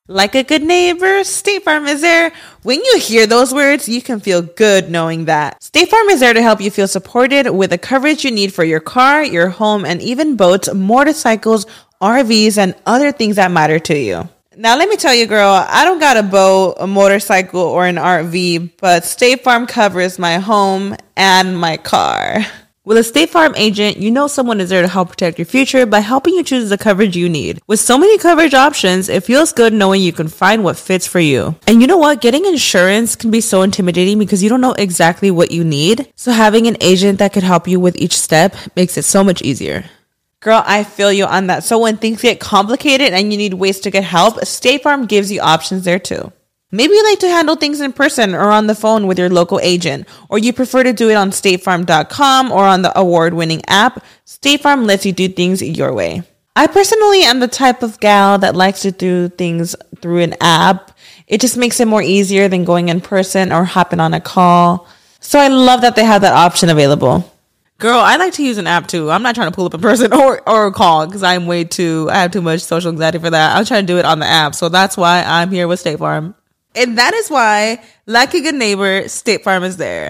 Like a good neighbor, State Farm is there. When you hear those words, you can feel good knowing that. State Farm is there to help you feel supported with the coverage you need for your car, your home, and even boats, motorcycles, RVs, and other things that matter to you. Now, let me tell you, girl, I don't got a boat, a motorcycle, or an RV, but State Farm covers my home and my car. With a State Farm agent, you know someone is there to help protect your future by helping you choose the coverage you need. With so many coverage options, it feels good knowing you can find what fits for you. And you know what? Getting insurance can be so intimidating because you don't know exactly what you need. So having an agent that could help you with each step makes it so much easier. Girl, I feel you on that. So when things get complicated and you need ways to get help, State Farm gives you options there too. Maybe you like to handle things in person or on the phone with your local agent, or you prefer to do it on statefarm.com or on the award-winning app. State Farm lets you do things your way. I personally am the type of gal that likes to do things through an app. It just makes it more easier than going in person or hopping on a call. So I love that they have that option available. Girl, I like to use an app too. I'm not trying to pull up in person or call because I have too much social anxiety for that. I'm trying to do it on the app. So that's why I'm here with State Farm. And that is why, like a good neighbor, State Farm is there.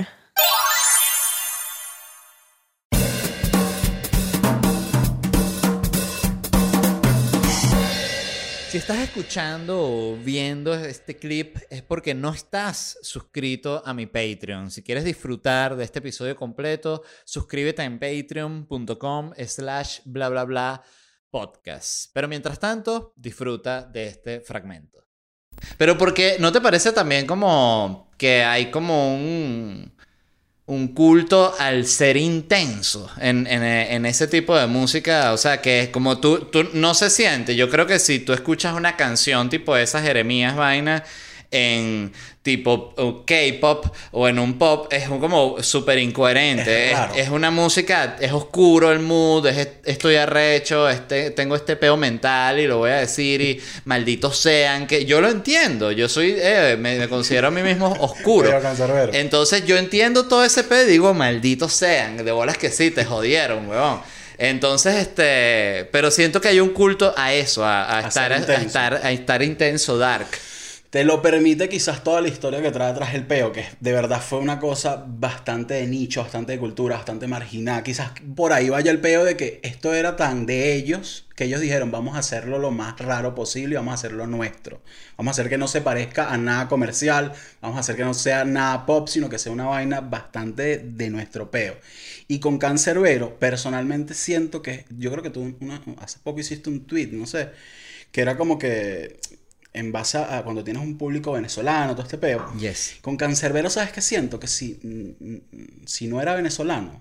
Si estás escuchando o viendo este clip es porque no estás suscrito a mi Patreon. Si quieres disfrutar de este episodio completo, suscríbete en patreon.com/bla bla bla podcast. Pero mientras tanto, disfruta de este fragmento. Pero porque ¿no te parece también como que hay como un culto al ser intenso en ese tipo de música? O sea, que es como tú no se siente. Yo creo que si tú escuchas una canción tipo esas Jeremías vaina en tipo K-pop o en un pop, es como súper incoherente. Es una música, es oscuro el mood, estoy arrecho, tengo este peo mental y lo voy a decir y malditos sean, que yo lo entiendo. Yo soy, me considero a mí mismo oscuro. Entonces yo entiendo todo ese peo y digo, malditos sean, de bolas que sí, te jodieron, weón. Entonces, pero siento que hay un culto a eso, a estar intenso, dark. Te lo permite quizás toda la historia que trae atrás el peo, que de verdad fue una cosa bastante de nicho, bastante de cultura, bastante marginada. Quizás por ahí vaya el peo de que esto era tan de ellos, que ellos dijeron, vamos a hacerlo lo más raro posible y vamos a hacerlo nuestro. Vamos a hacer que no se parezca a nada comercial, vamos a hacer que no sea nada pop, sino que sea una vaina bastante de nuestro peo. Y con Canserbero, personalmente siento que, yo creo que tú hace poco hiciste un tweet, no sé, que era como que en base a cuando tienes un público venezolano, todo este peo. Yes. Con Canserbero, ¿sabes qué siento? Que si no era venezolano,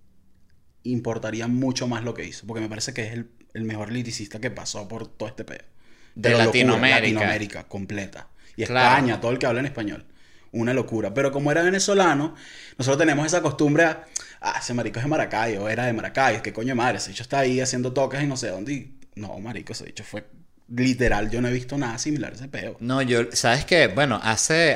importaría mucho más lo que hizo. Porque me parece que es el mejor liricista que pasó por todo este peo. De Latinoamérica. Latinoamérica completa. Y España, todo el que habla en español. Una locura. Pero como era venezolano, nosotros tenemos esa costumbre ese marico es de Maracaibo, era de Maracaibo, qué coño de madre. Ese bicho está ahí haciendo toques y no sé dónde. Y no, marico, ese bicho fue... Literal, yo no he visto nada similar a ese peo. No, yo, ¿sabes qué? Bueno, hace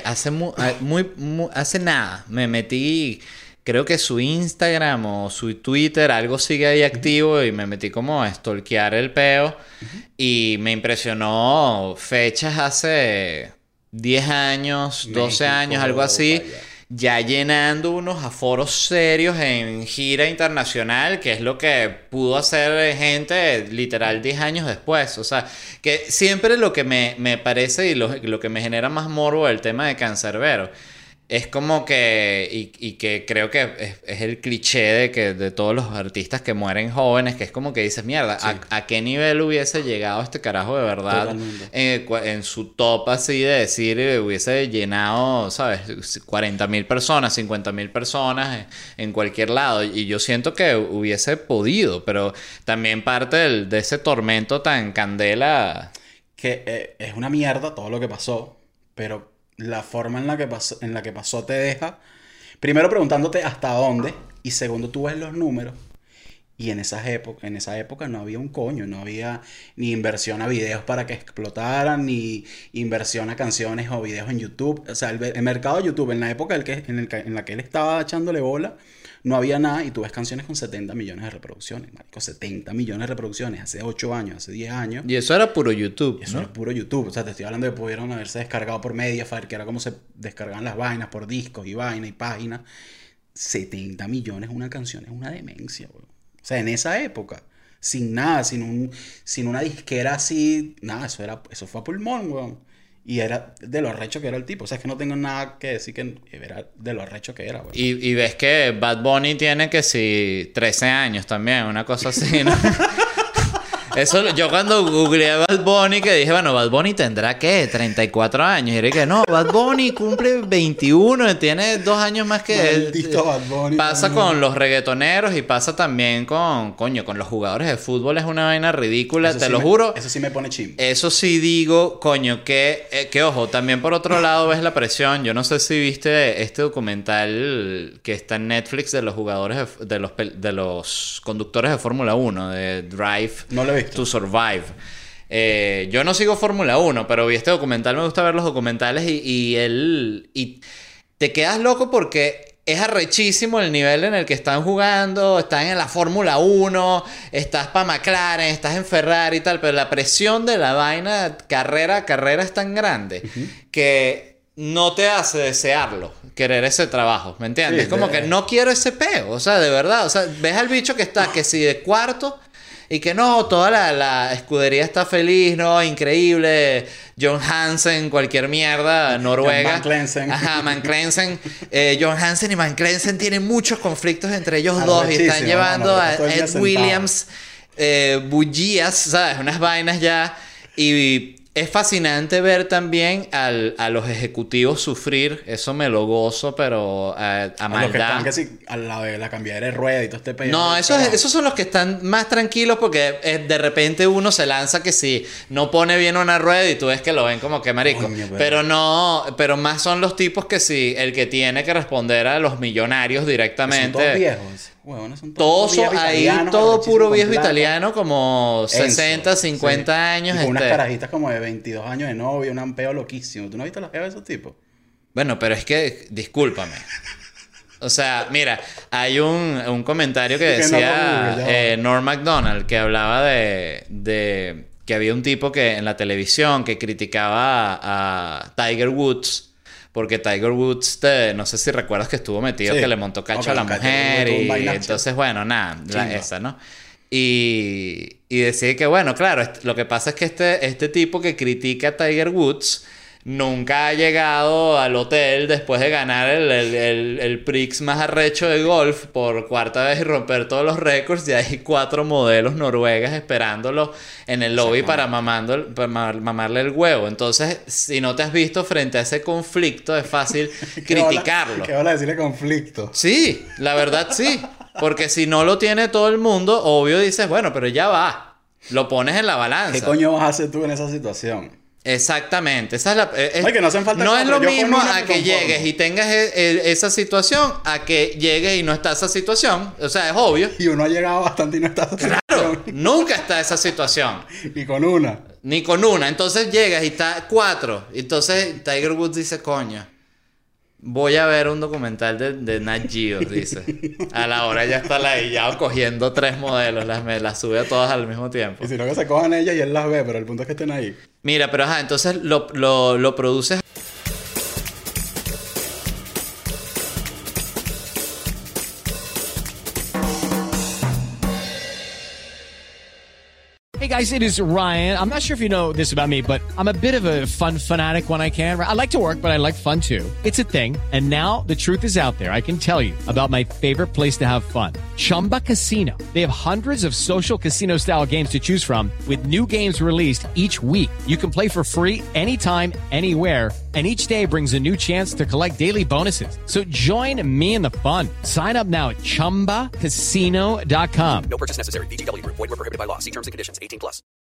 nada me metí, creo que su Instagram o su Twitter, algo sigue ahí activo y me metí como a stalkear el peo y me impresionó fechas hace 10 años, 12 años, algo así. Ya llenando unos aforos serios en gira internacional, que es lo que pudo hacer gente literal 10 años después. O sea, que siempre lo que me parece y lo que me genera más morbo del tema de Canserbero es como que, y que creo que es el cliché de todos los artistas que mueren jóvenes, que es como que dices, mierda, sí. ¿A qué nivel hubiese llegado este carajo de verdad? En su top así de decir, hubiese llenado, ¿sabes? 40,000 personas, 50,000 personas en cualquier lado. Y yo siento que hubiese podido, pero también parte de ese tormento tan candela. Que es una mierda todo lo que pasó, pero... la forma en la que pasó te deja primero preguntándote hasta dónde y segundo tú ves los números y en esa época no había un coño, no había ni inversión a videos para que explotaran ni inversión a canciones o videos en YouTube. O sea, el mercado de YouTube en la época en la que él estaba echándole bola no había nada y tú ves canciones con 70 millones de reproducciones, marico, 70 millones de reproducciones hace 8 años, hace 10 años. Y eso era puro YouTube, Eso ¿no? era puro YouTube. O sea, te estoy hablando de que pudieron haberse descargado por Mediafire, que era como se descargaban las vainas por discos y vainas y páginas. 70 millones una canción es una demencia, weón. O sea, en esa época, sin nada, sin una disquera así, nada, eso fue a pulmón, weón. Y era de lo arrecho que era el tipo. O sea, es que no tengo nada que decir que era de lo arrecho que era, weón. Y ves que Bad Bunny tiene que si 13 años también, una cosa así, ¿no? Eso, yo cuando googleé a Bad Bunny, que dije, bueno, Bad Bunny tendrá, ¿qué? 34 años. Y dije, no, Bad Bunny cumple 21, tiene 2 años más que él. Maldito Bad Bunny. Pasa con los reggaetoneros y pasa también con los jugadores de fútbol. Es una vaina ridícula, Eso te sí lo juro. Eso sí me pone chimbo. Eso sí digo, coño, que ojo, también por otro lado ves la presión. Yo no sé si viste este documental que está en Netflix de los jugadores, de los conductores de Fórmula 1, de Drive No lo he visto. to Survive. Yo no sigo Fórmula 1, pero vi este documental, me gusta ver los documentales y te quedas loco porque es arrechísimo el nivel en el que están jugando, están en la Fórmula 1, estás para McLaren, estás en Ferrari y tal, pero la presión de la vaina carrera a carrera es tan grande que no te hace desearlo, querer ese trabajo, ¿me entiendes? Sí, es como que no quiero ese peo, o sea, de verdad, o sea, ves al bicho que está, que si de cuarto y que no, toda la escudería está feliz, ¿no? Increíble. John Hansen, cualquier mierda, Noruega. Van Clensen. Ajá, Van Clensen. John Hansen y Van Clensen tienen muchos conflictos entre ellos dos y están llevando a Ed Williams bullías, ¿sabes? Unas vainas ya. Y es fascinante ver también a los ejecutivos sufrir. Eso me lo gozo, pero a A los que maldad. están casi al lado de la cambiadera de rueda y todo este pedo. No, esos son los que están más tranquilos porque de repente uno se lanza que si no pone bien una rueda y tú ves que lo ven como que marico. Coño, pero más son los tipos que si el que tiene que responder a los millonarios Son directamente. todos viejos. Huevones, son Todos viejos ahí, italianos, todo arrechísimos puro con viejo plata. italiano, como 60, Enzo, 50 sí. años. Y con unas carajitas como de 22 años de novio, un peo loquísimo. ¿Tú no has visto las jevas de esos tipos? Bueno, pero es que, discúlpame. O sea, mira, hay un comentario que Que no lo decía google, ya va. Norm Macdonald, que hablaba de que había un tipo que en la televisión que criticaba a Tiger Woods, porque Tiger Woods, no sé si recuerdas que estuvo metido, Sí. que le montó cacho Ok, a la cacho, mujer, un y vainazo. entonces, bueno, nada, Chimba. esa, ¿no? Y decía que, bueno, claro, lo que pasa es que este tipo que critica a Tiger Woods nunca ha llegado al hotel después de ganar el Prix más arrecho de golf por cuarta vez y romper todos los récords. Y hay 4 modelos noruegas esperándolo en el lobby para mamarle el huevo. Entonces, si no te has visto frente a ese conflicto, es fácil criticarlo. ¿Qué van a decirle conflicto? Sí, la verdad sí. Porque si no lo tiene todo el mundo, obvio dices, bueno, pero ya va. Lo pones en la balanza. ¿Qué coño vas a hacer tú en esa situación? Exactamente. Esa es la, Ay, que no hacen falta no es cuatro, lo yo con mismo una a me que conformo. llegues y tengas esa situación a que llegues y no está esa situación. O sea, es obvio. Y uno ha llegado bastante y no está. Claro, nunca está esa situación. Y con una. Ni con una. Entonces llegas y está 4. Entonces Tiger Woods dice, coño, voy a ver un documental de Nat Geo, dice. A la hora ya está ladillado cogiendo 3 modelos. Las sube a todas al mismo tiempo. Y si no, que se cojan ellas y él las ve, pero el punto es que estén ahí. Mira, pero ajá, entonces lo produces. Hey guys, it is Ryan. I'm not sure if you know this about me, but I'm a bit of a fun fanatic when I can. I like to work, but I like fun too. It's a thing. And now the truth is out there. I can tell you about my favorite place to have fun. Chumba Casino. They have hundreds of social casino style games to choose from with new games released each week. You can play for free anytime, anywhere. And each day brings a new chance to collect daily bonuses. So join me in the fun. Sign up now at ChumbaCasino.com. No purchase necessary. VGW Group. Void where prohibited by law. See terms and conditions. 18+.